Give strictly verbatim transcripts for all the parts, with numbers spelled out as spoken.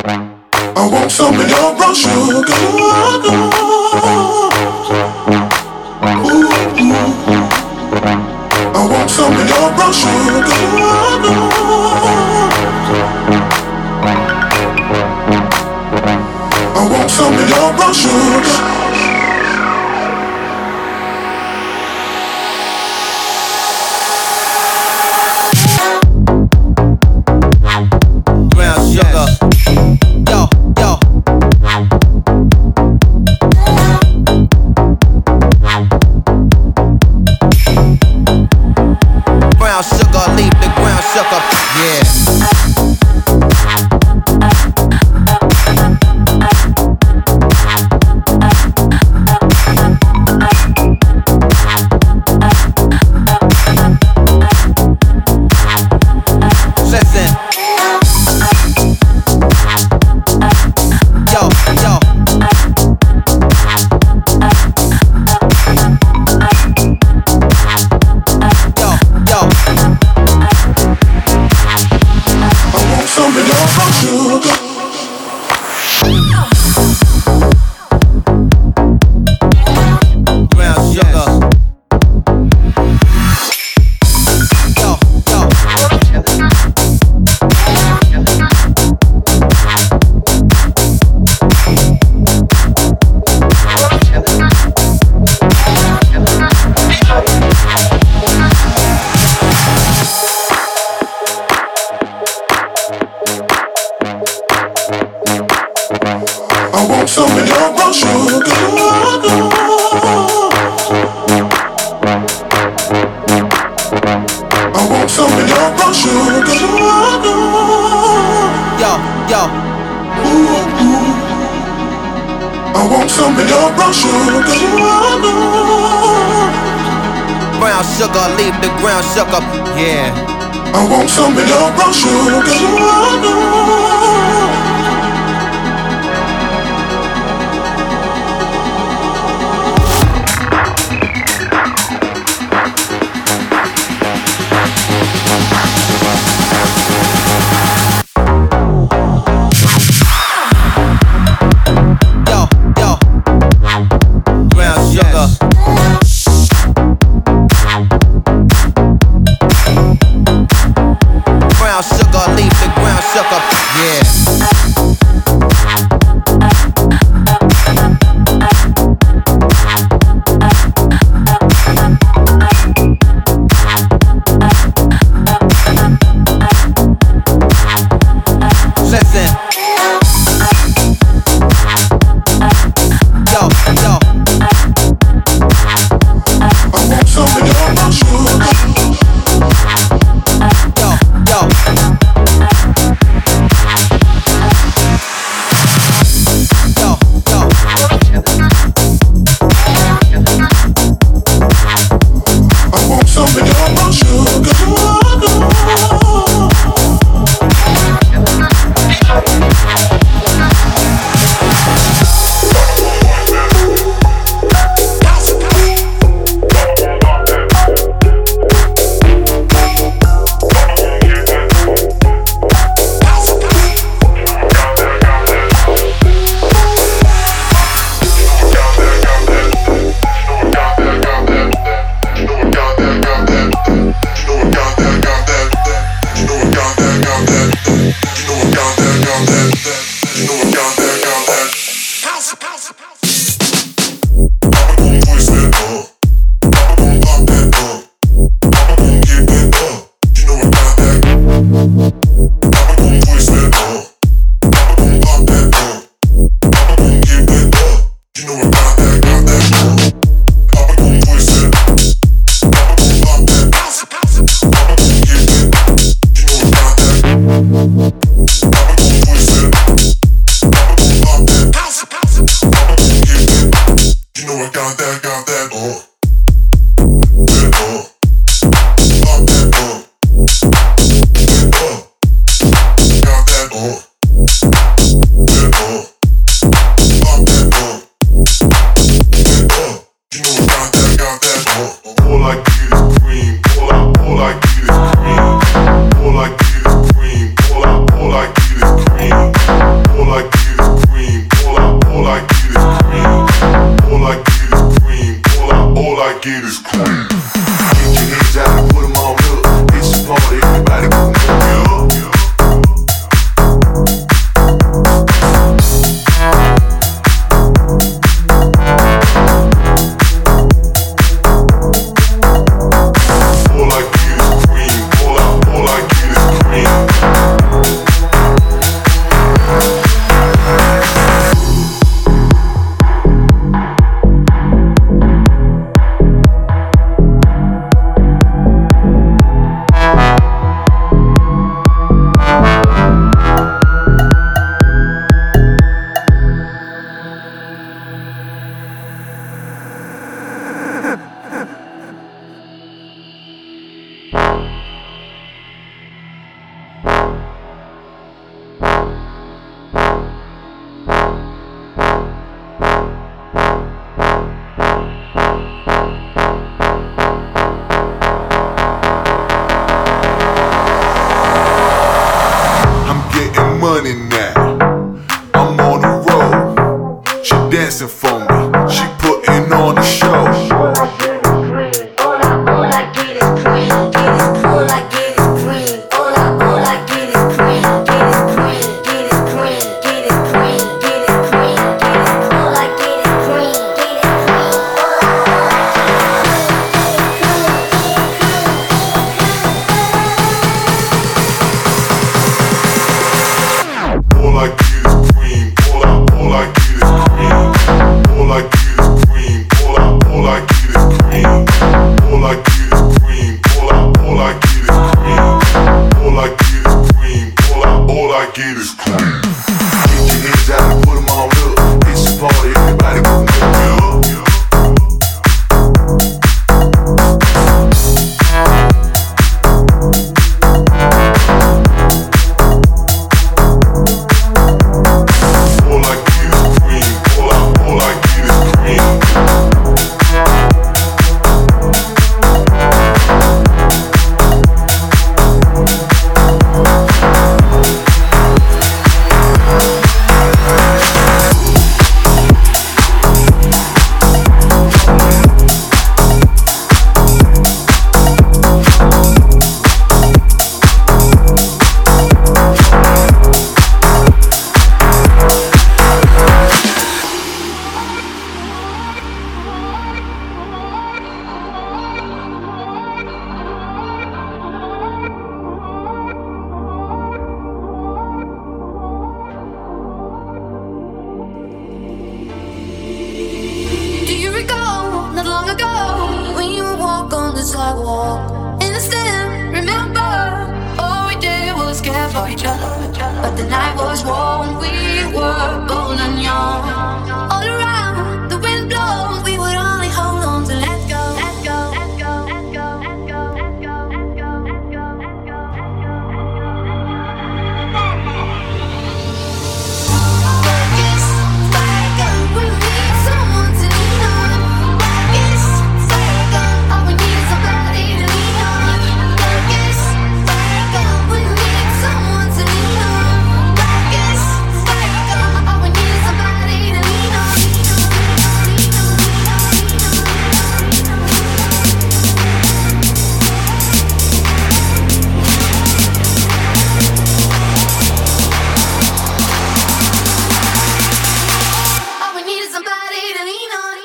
I want some of your brown sugar. Ooh, ooh. I want some of your brown sugar. I want some of your brown sugar. All I is cream. Get your hands out and put them on up. It's a party, everybody go move it up. Money now, I'm on the road. She dancing for me, she putting on a show. All I get is cream. All I, all I get is cream. All I get is cream. All I, all I get is cream. All I get is cream. All I, all I get is cream. All I get is cream. All I, all I get is cream. Get your hands out and put them on up. It's a party, everybody go move it up. Sidewalk in the stand, remember all we did was care for each other. But the night was warm, we were bold and young. All around, the wind blows, we would only hold on to let go, let go, let go, let go, let go, let go, let go, let go, let go, Darkest fire, we need someone to lean on. Darkest fire, all we need is somebody to lean on. Darkest fire, we need someone to lean on. Darkest fire, all we need is somebody to lean on. All we need is somebody to lean on.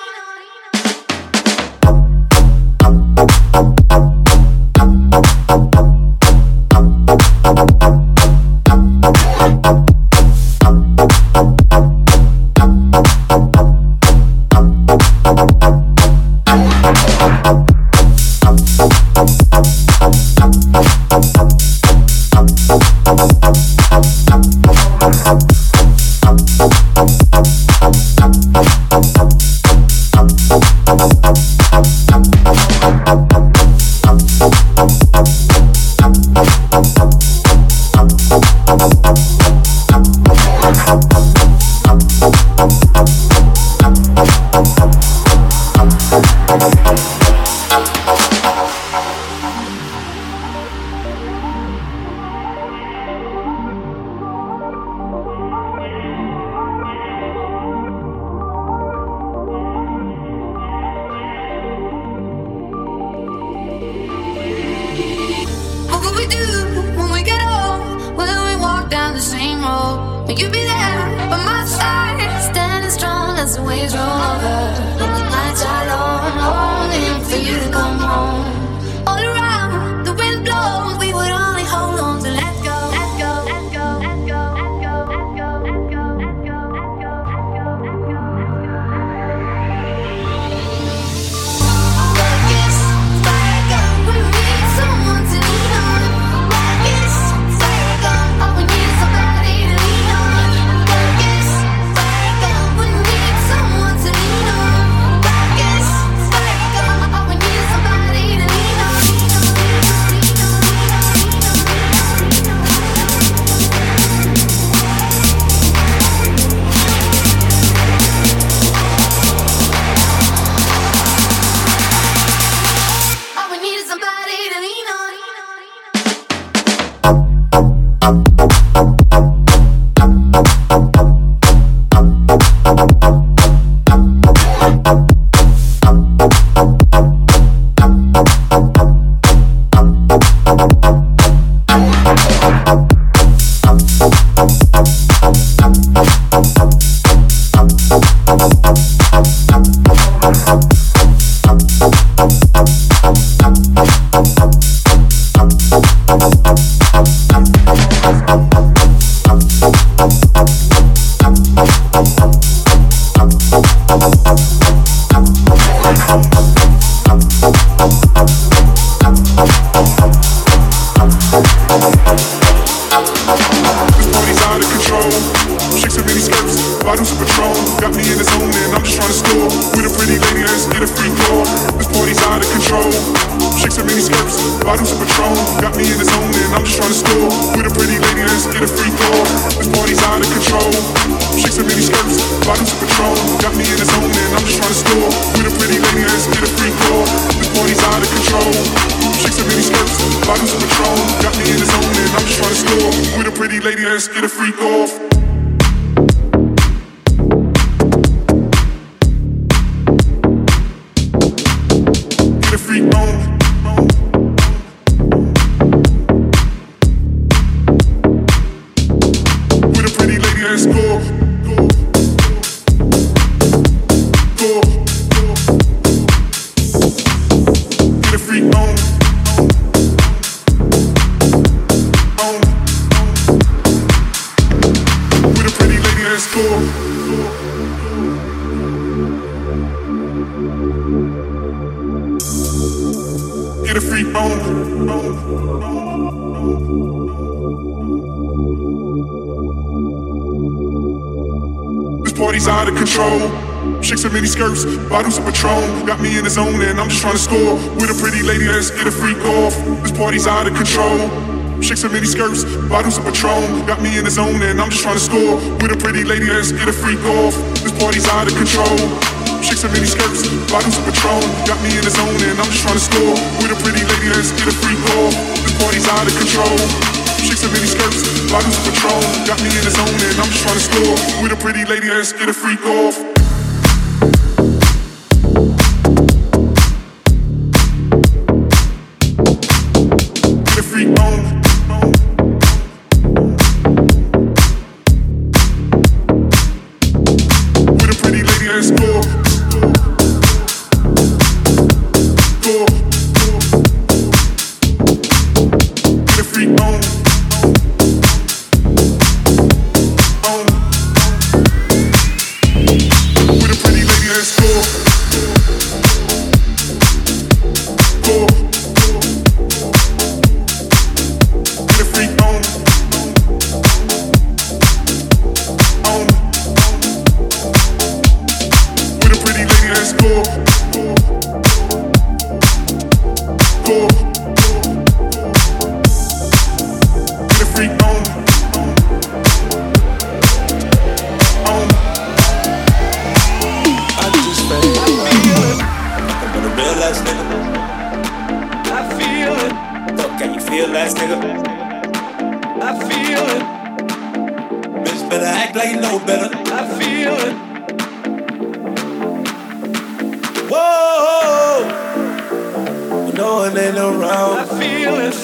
always roll over. And the nights are long, longing for you to come home. All around, the wind blows, we would only hold on to let go, let go, let go, let go, let go, let go, let go, let go, let go, let go. Like it's like we need someone to lean on. Like it's like all we need is somebody to lean on. Like it's like we need someone to lean on. Like it's like all we need is somebody to lean on. All we need is somebody to lean on. Bottles of Patron, got me in the zone and I'm just trying to score. With a pretty lady, let's get a freak off. This party's out of control. Chicks in mini skirts, bottles of Patron, got me in the zone and I'm just trying to score. With a pretty lady, let's get a freak off. This party's out of control. Chicks in mini skirts, bottles of Patron, got me in the zone and I'm just trying to score. With a pretty lady, let's get a freak off. This party's out of control. Chicks in mini skirts, bottles of Patron, got me in the zone and I'm just trying to score. With a pretty lady, let's get a freak off.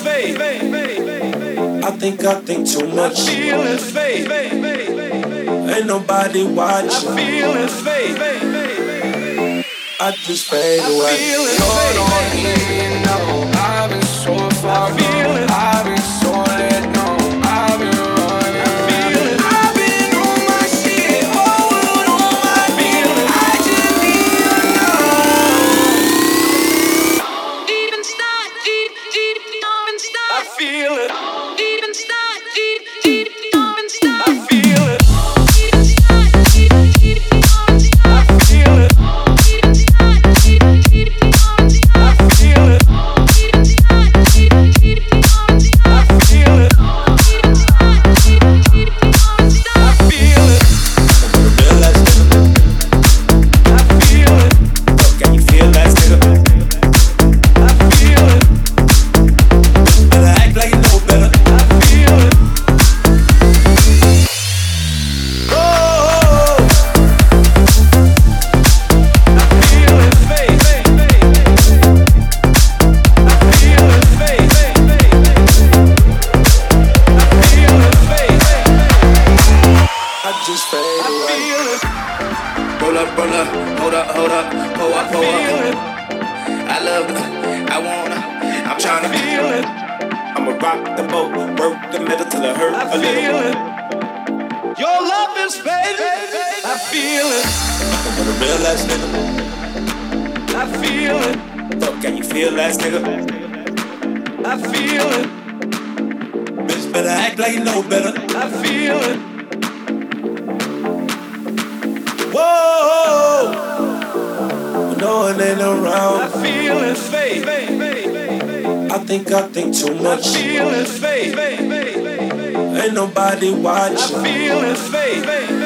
I think I think too much. Ain't nobody watching. I feel it fade. I just fade away. I feel it fade. Hold on, you know I've been so far I feel it. I've been so let go. I've been running. I feel it. I've been on my shit. Whole world on my feel it. I just need to know. Even start, deep, deep, even start. I feel it. Even start, deep, deep, even start. I feel it. Even start, deep, deep, even start. I feel it. Even start, deep, deep, even start. I feel it. Even start, deep, deep, even start. I feel it. Even start, deep, deep, even start. I feel it. Real ass nigga. I feel it. Oh, can you feel that nigga? I feel it. Better act like you know better. I feel it. Oh, I feel it fade. I feel it fade. I feel it fade. I just fade I away. feel it. Roll up, roll up, hold up, hold up, pull I up, pull feel up. it. I love it, I wanna, I'm I tryna feel it. I'ma rock the boat, work the metal till it hurt I a little. feel it. Your love is fading. I feel it. But a real ass nigga. I feel it. Oh, can you feel that nigga? I feel it. Bitch, better act like you know better. I feel it. Whoa, when no one ain't I around. feel it fade. I think I think too I much. feel it fade. Ain't nobody I watching. feel it fade.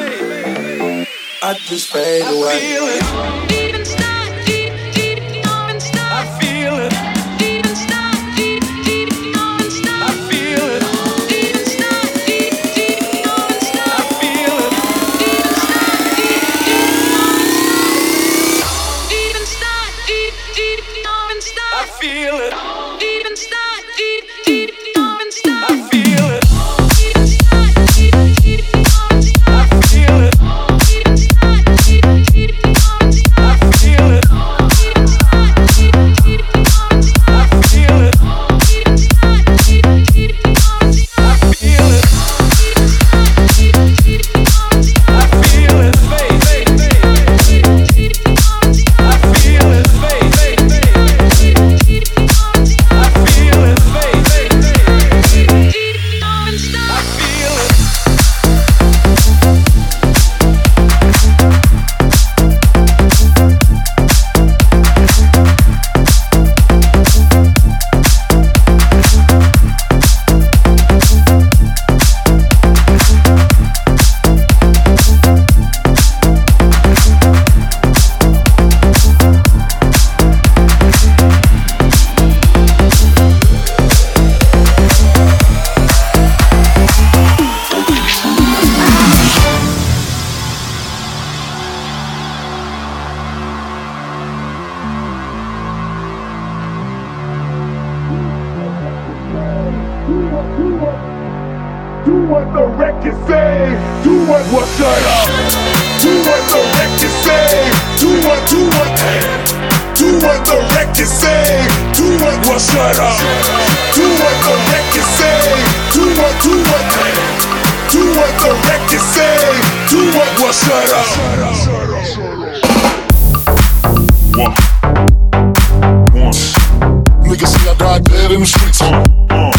I just fade I away. feel it. Even start, deep, deep, even start. I feel it. Even start, deep, deep, even start. I feel it. Even start, deep, deep, even start. I feel it. Even start, deep, deep, even start. Even start, deep, deep, even start. I feel it. Even start, deep, deep, even start. I feel it. Even start, deep, deep, even start. I feel it. Even start, deep, deep, even start. I feel it. Even start, deep, deep, even start. I feel it. Even start, deep, deep, even start. I feel it. Even start, deep, deep, even start. I feel it fade. I feel it fade. I feel it fade. I feel it. Do what the record say. Do what what shut up. Do what the record say. Do what do what. Do what the record say. Do what what shut up. Do what the record say. Do what do what. Do what the record say. Do what what shut up. One. One. Niggas see I died dead in the streets. Uh, uh.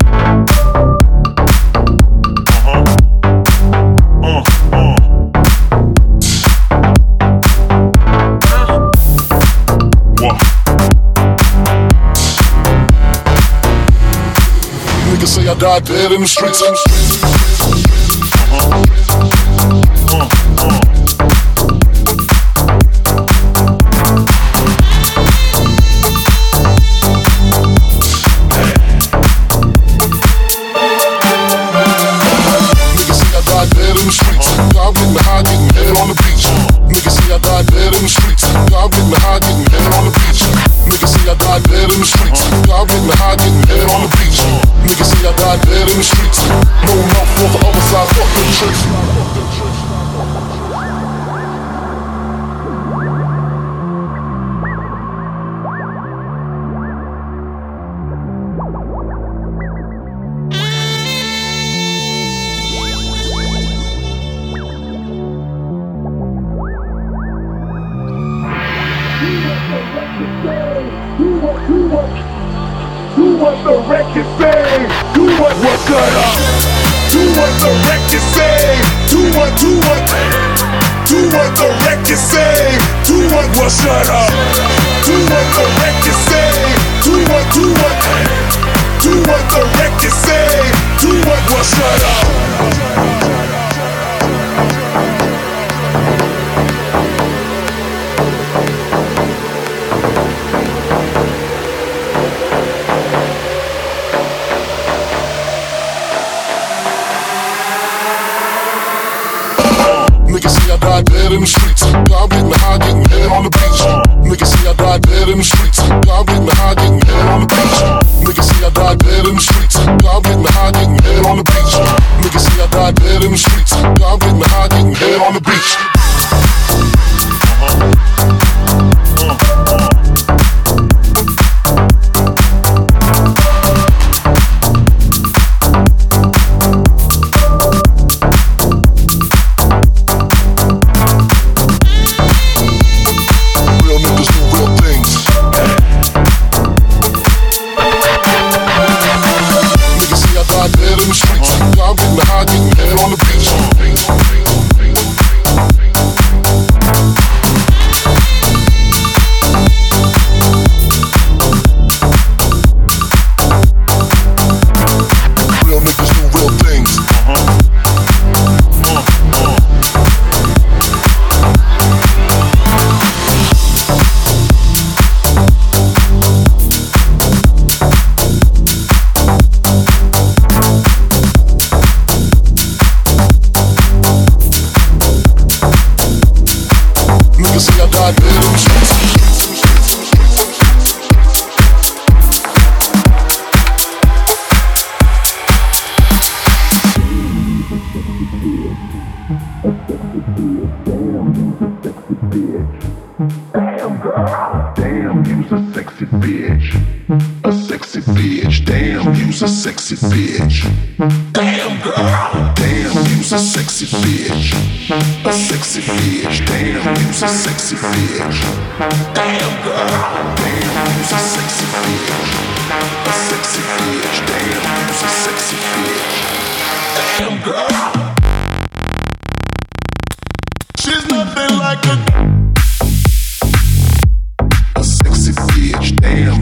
Niggas say I died dead in the streets. Uh-huh. Uh, uh. Niggas say I died dead in the streets. God getting high, getting head on the beach. Niggas say I died dead in the streets. God getting high, getting head on the beach. Niggas say I died dead in the streets. God getting high, getting head on the beach. Niggas say I died dead in the streets. No mouth for the other side, fuck the church. record say. Do what, do what, do what the record say. Do what, well shut up. Do what the record say. Do what, do what, do what the record say. Do what, well shut up. Niggas see I died dead in the streets. God getting high, getting head on the beach. Niggas see I died dead in the streets. God getting high, getting head on the beach. Niggas see I died dead in the streets. God getting high, getting head on the beach. Niggas see I died dead in the streets. God getting high, getting head on the beach. Sexy bitch. Damn girl. Damn, you's a sexy bitch. A sexy bitch. Damn, you's a sexy bitch. Damn girl. Damn, you's a sexy bitch. A sexy bitch. Damn, you's a sexy bitch. Damn girl. She's nothing like a a sexy bitch. Damn.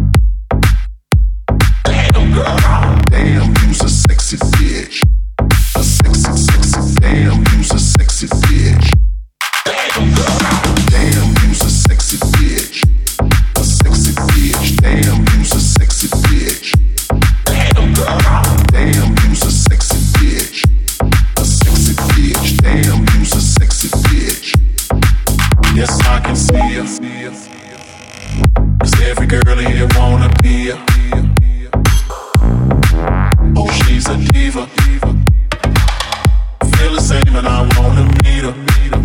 Damn, you's a sexy bitch. A sexy, sexy, damn, you's a sexy bitch. Damn, girl. Damn, you's a sexy bitch. A sexy bitch. Damn, you's a sexy bitch. Damn, girl. Damn, you's a sexy bitch. A sexy bitch. Damn, you's a sexy bitch. Yes, I can see her. Cause every girl here wanna be her. Oh, she's a diva. Feel the same and I wanna meet her.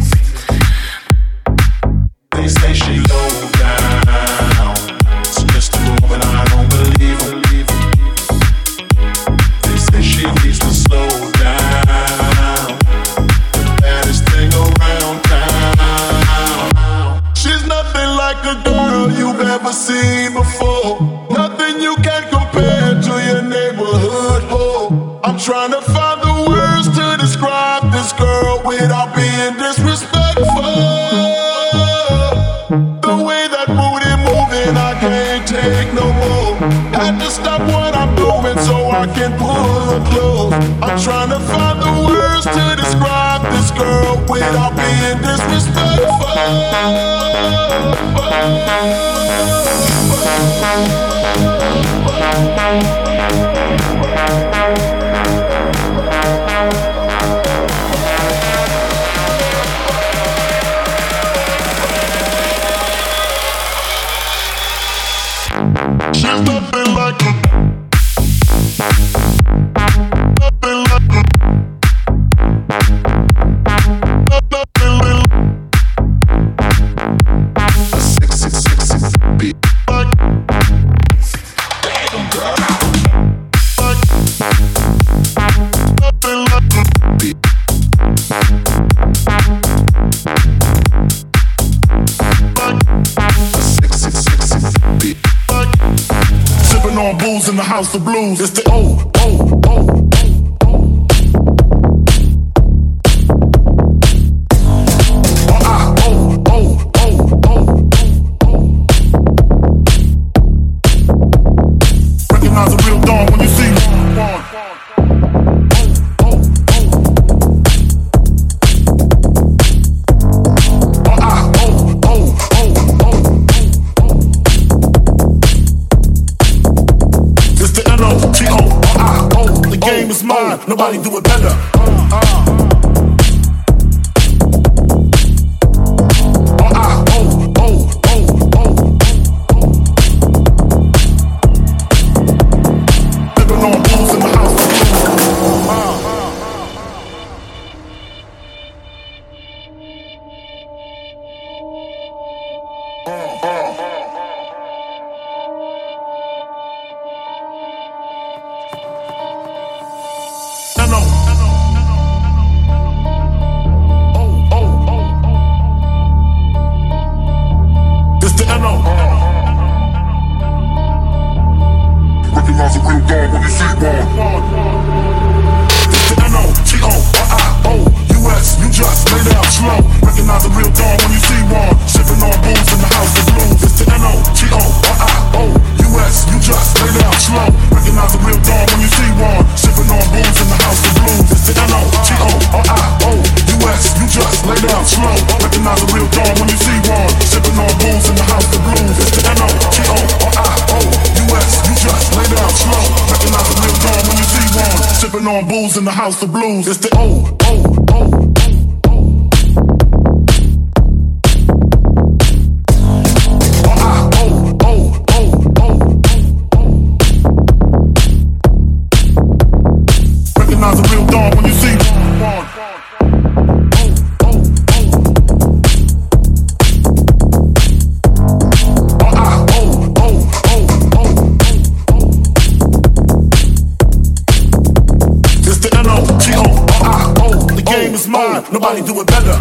They say she low down. It's just a moment, I don't believe her. They say she needs to slow down. The baddest thing around town. She's nothing like a girl you've ever seen before. Nothing you can compare to your neighborhood. I'm trying to find the words to describe this girl without being disrespectful. The way that booty moving, I can't take no more. Had to stop what I'm doing so I can pull her close. I'm trying to find the words to describe this girl without being disrespectful. She's nothing like a nothing like a nothing like a sexy, sexy bitch. Like, damn girl. Like, nothing like a bitch. Like, a sexy, sexy bitch. Sipping on booze in the house of blues. It's the oh, oh, oh, oh, oh. mine, nobody do it better. On booze in the house of blues. It's the O, O, O, O, O, I, O, O, O, O, O. Recognize a real dawn when you see one. Nobody do it better.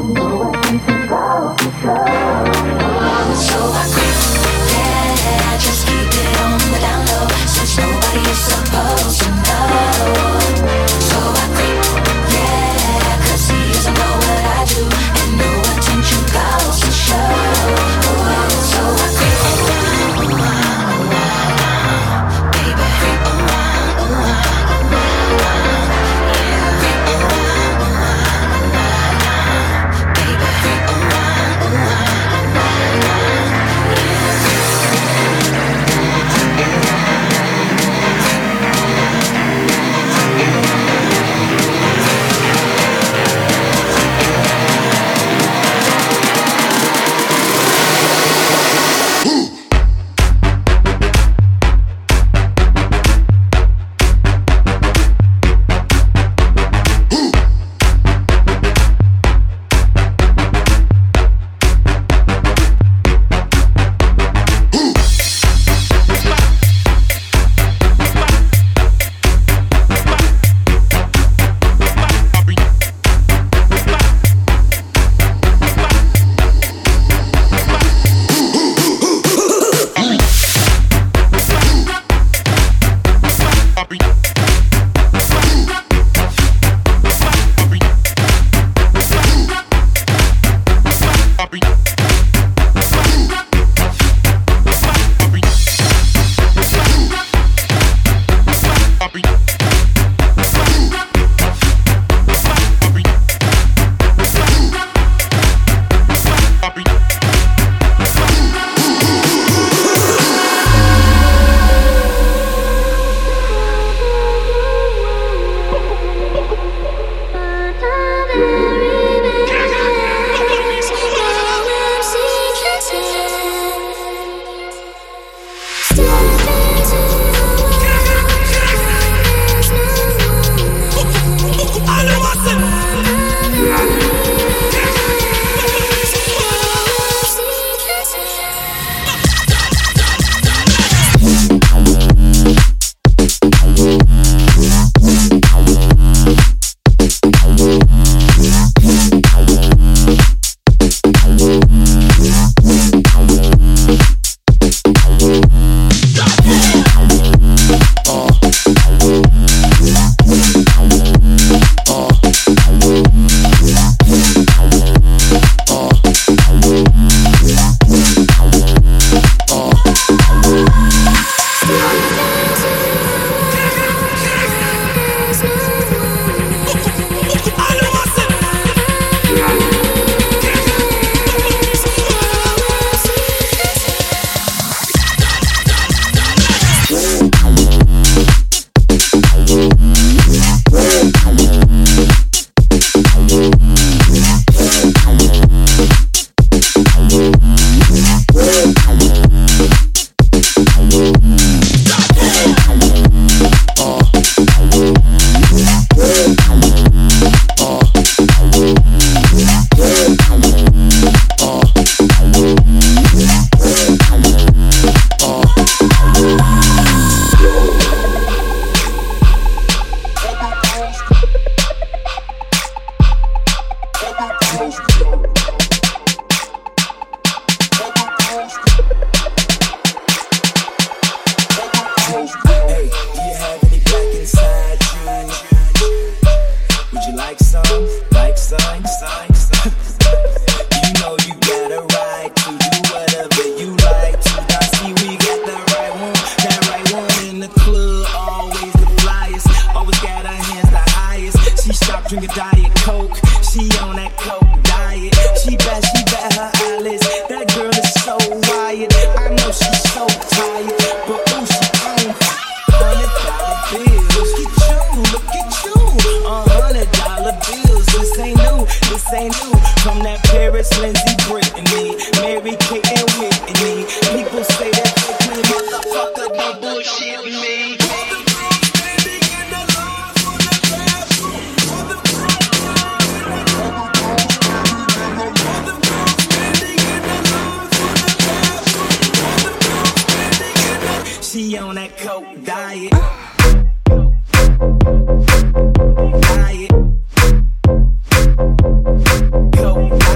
Diet. Coke.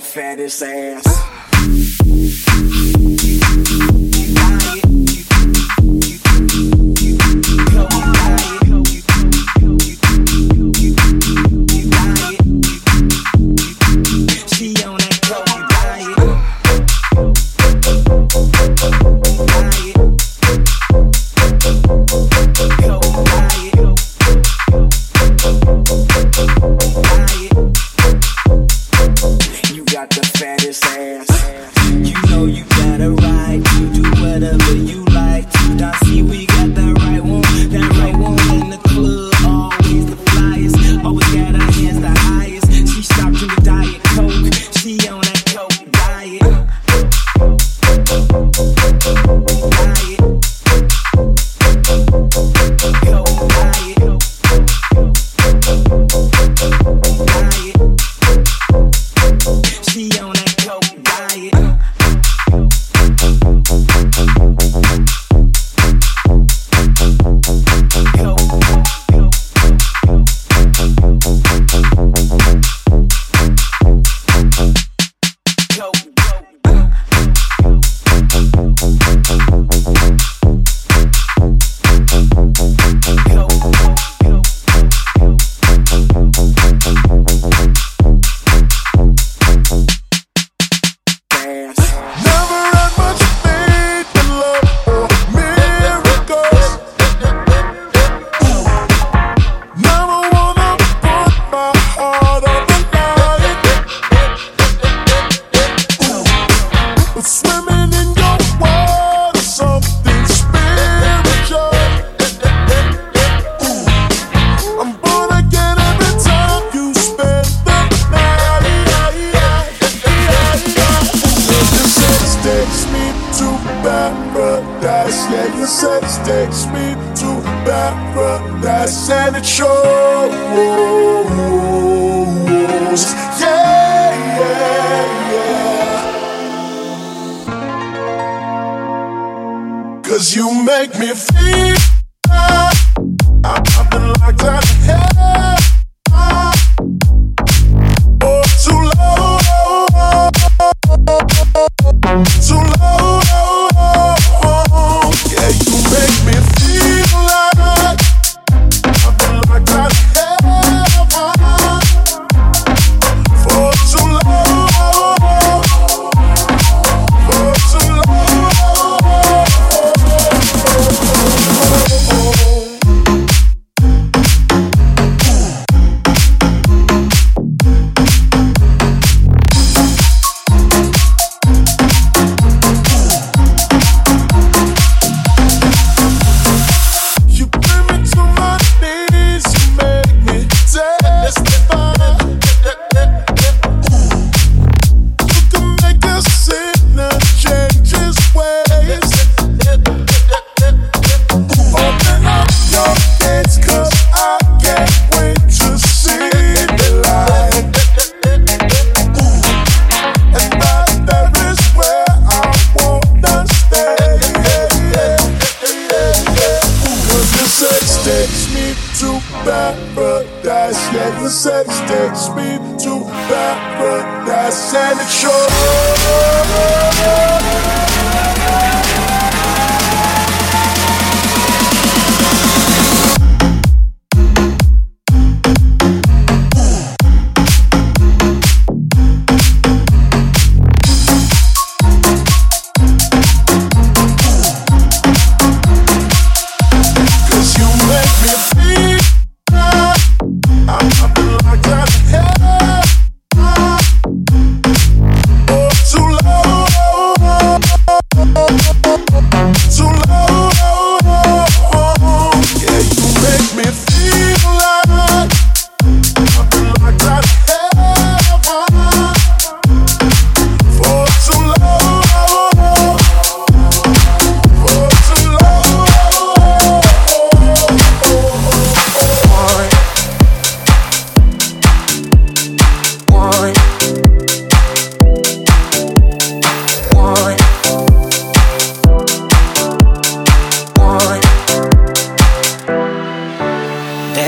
fattest ass.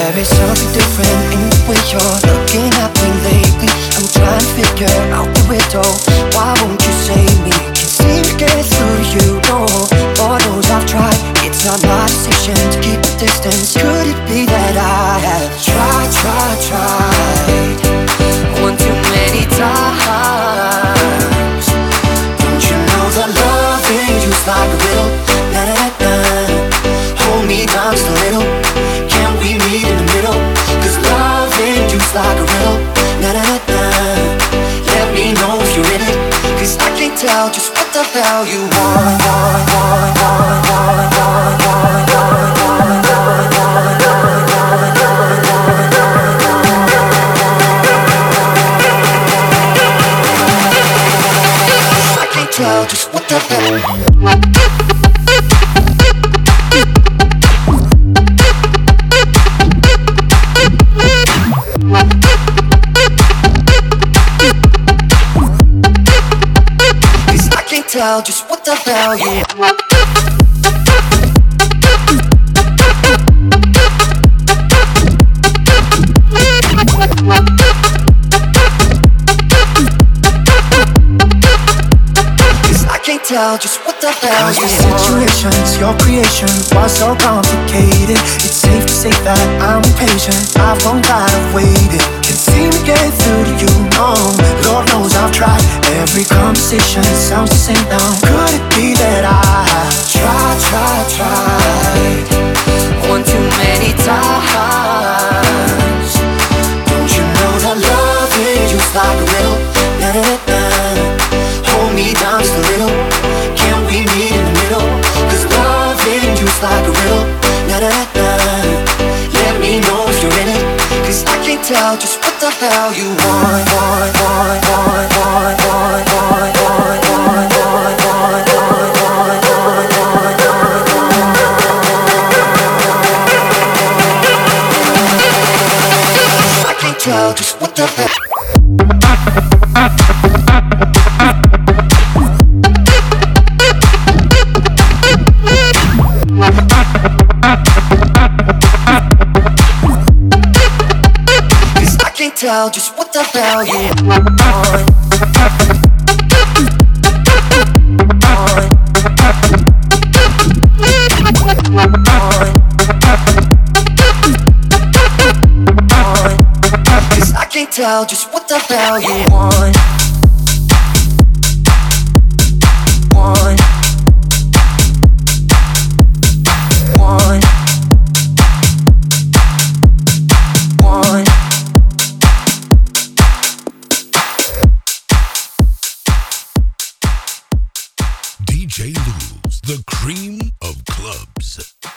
different in the way you're looking at me lately. I'm trying to figure out the way tiptoe. Why won't you save me? Can't seem to get through to you, no. Lord knows I've tried. It's not my decision to keep a distance. Could it be that I have tried, tried, tried one too many times? Don't you know that loving you's like a riddle? Na na na na. Hold me down just a little. Can we meet in the middle? Cause loving you's like a riddle. Na na na na. Let me know if you're in it. Cause I can't tell just what the hell you want, want, want, want, want, want, want, want, want, want, want, want, I can't tell just what the hell. Tell just what the hell you want. Cause I can't tell just what the hell you want. Your situations, your creation was so complicated. It's safe to say that I'm impatient. I've gone tired of waiting. Can't seem to get through to you, no. Lord knows I've tried. Every conversation sounds the same now. Could it be that I tried, tried, tried one too many times? Don't you know that loving you's like a riddle? Na na na na. Hold me down just a little. Can we meet in the middle? Cause loving you's like a riddle. Na na na na. Let me know if you're in it. Cause I can't tell just what the hell you want, want, want, want, want, want, want, want, want, want, want, want, want, want, want. I can't tell just what the hell. Tell just what the hell you want. Cause I can't tell just what the hell you want. Want. Want. Want. D J Lou's, the cream of clubs.